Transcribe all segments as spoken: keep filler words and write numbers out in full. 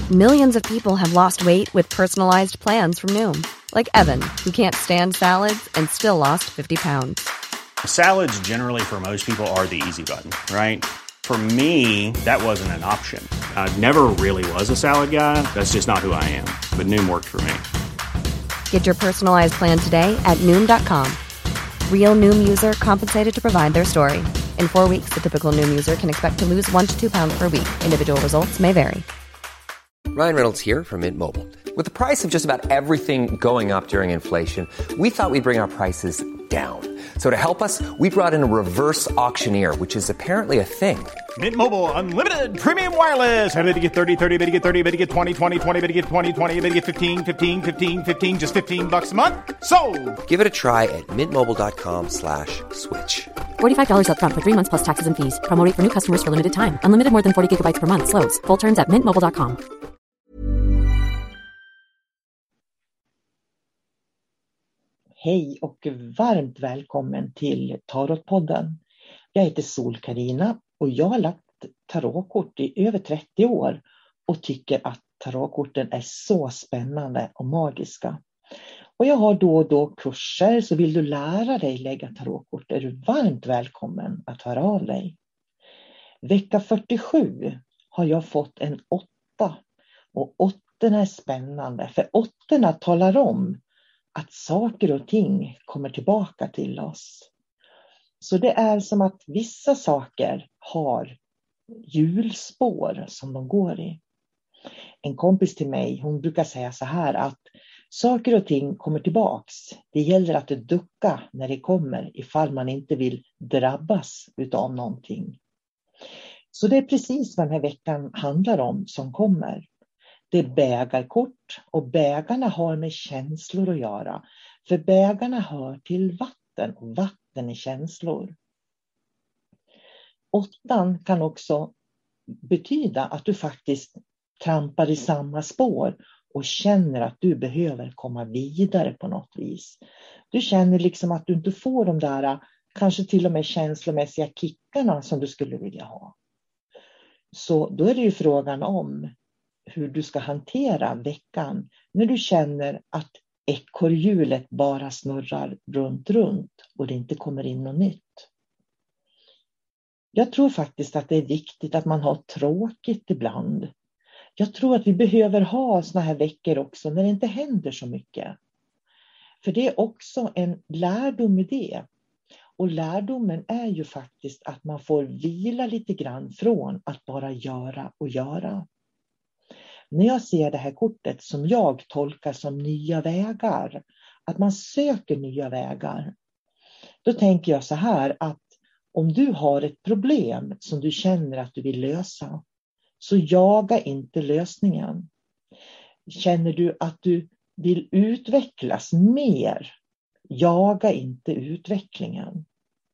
Millions of people have lost weight with personalized plans from Noom. Like Evan, who can't stand salads and still lost fifty pounds. Salads generally for most people are the easy button, right? For me, that wasn't an option. I never really was a salad guy. That's just not who I am. But Noom worked for me. Get your personalized plan today at Noom dot com. Real Noom user compensated to provide their story. In four weeks, the typical Noom user can expect to lose one to two pounds per week. Individual results may vary. Ryan Reynolds here from Mint Mobile. With the price of just about everything going up during inflation, we thought we'd bring our prices down. So to help us, we brought in a reverse auctioneer, which is apparently a thing. Mint Mobile Unlimited Premium Wireless. How to get thirty, thirty, how to get thirty, how to get twenty, twenty, twenty, how to get twenty, twenty, how to get fifteen, fifteen, fifteen, fifteen, just fifteen bucks a month? Sold! Give it a try at mintmobile.com slash switch. forty-five dollars up front for three months plus taxes and fees. Promo rate for new customers for limited time. Unlimited more than forty gigabytes per month. Slows full terms at mint mobile dot com. Hej och varmt välkommen till Tarotpodden. Jag heter Sol-Carina och jag har lagt tarotkort i över trettio år och tycker att tarotkorten är så spännande och magiska. Och jag har då och då kurser, så vill du lära dig lägga tarotkort är du varmt välkommen att höra av dig. Vecka fyrtiosju har jag fått en åtta och åttorna är spännande för åttorna talar om att saker och ting kommer tillbaka till oss. Så det är som att vissa saker har hjulspår som de går i. En kompis till mig, hon brukar säga så här att saker och ting kommer tillbaks. Det gäller att ducka när det kommer ifall man inte vill drabbas utav någonting. Så det är precis vad den här veckan handlar om som kommer. Det är bägarkort och bägarna har med känslor att göra. För bägarna hör till vatten och vatten är känslor. Åttan kan också betyda att du faktiskt trampar i samma spår och känner att du behöver komma vidare på något vis. Du känner liksom att du inte får de där kanske till och med känslomässiga kickarna som du skulle vilja ha. Så då är det ju frågan om hur du ska hantera veckan när du känner att ekorrhjulet bara snurrar runt runt och det inte kommer in något nytt. Jag tror faktiskt att det är viktigt att man har tråkigt ibland. Jag tror att vi behöver ha såna här veckor också när det inte händer så mycket. För det är också en lärdom i det. Och lärdomen är ju faktiskt att man får vila lite grann från att bara göra och göra. När jag ser det här kortet som jag tolkar som nya vägar, att man söker nya vägar, då tänker jag så här att om du har ett problem som du känner att du vill lösa, så jaga inte lösningen. Känner du att du vill utvecklas mer, jaga inte utvecklingen.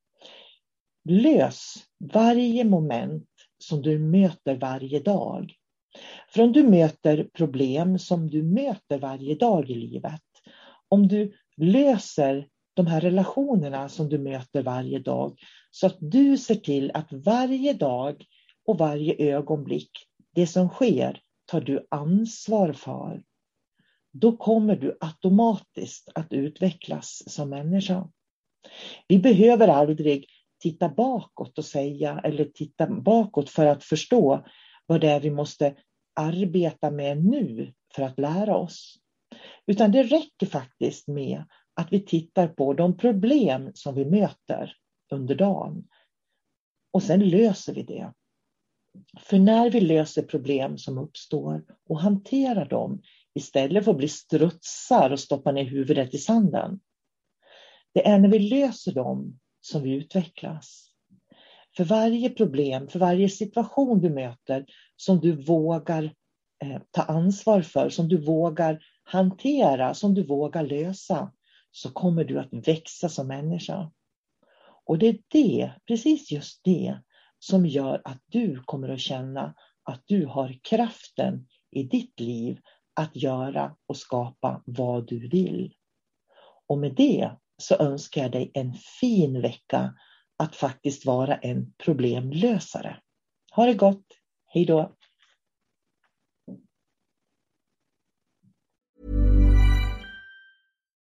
Lös varje moment som du möter varje dag. För om du möter problem som du möter varje dag i livet, om du löser de här relationerna som du möter varje dag, så att du ser till att varje dag och varje ögonblick, det som sker, tar du ansvar för, då kommer du automatiskt att utvecklas som människa. Vi behöver aldrig titta bakåt och säga, eller titta bakåt för att förstå vad det är vi måste arbeta med nu för att lära oss. Utan det räcker faktiskt med att vi tittar på de problem som vi möter under dagen. Och sen löser vi det. För när vi löser problem som uppstår och hanterar dem istället för att bli strutsar och stoppa ner huvudet i sanden. Det är när vi löser dem som vi utvecklas. För varje problem, för varje situation du möter som du vågar eh, ta ansvar för, som du vågar hantera, som du vågar lösa, så kommer du att växa som människa. Och det är det, precis just det, som gör att du kommer att känna att du har kraften i ditt liv att göra och skapa vad du vill. Och med det så önskar jag dig en fin vecka att faktiskt vara en problemlösare. Ha det gott. Hej då.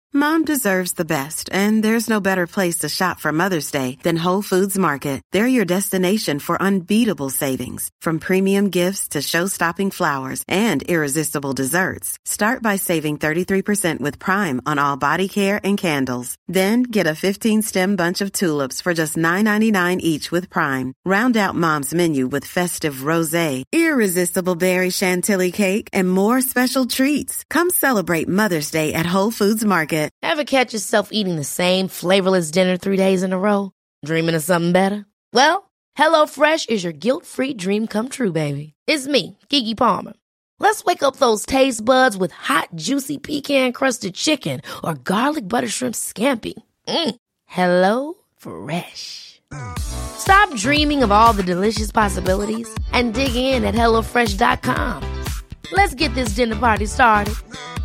Mom deserves the best, and there's no better place to shop for Mother's Day than Whole Foods Market. They're your destination for unbeatable savings, from premium gifts to show-stopping flowers and irresistible desserts. Start by saving thirty-three percent with Prime on all body care and candles. Then get a fifteen-stem bunch of tulips for just nine ninety-nine each with Prime. Round out Mom's menu with festive rosé, irresistible berry chantilly cake, and more special treats. Come celebrate Mother's Day at Whole Foods Market. Ever catch yourself eating the same flavorless dinner three days in a row? Dreaming of something better? Well, HelloFresh is your guilt-free dream come true, baby. It's me, Keke Palmer. Let's wake up those taste buds with hot, juicy pecan-crusted chicken or garlic butter shrimp scampi. Mm. Hello Fresh. Stop dreaming of all the delicious possibilities and dig in at hello fresh dot com. Let's get this dinner party started.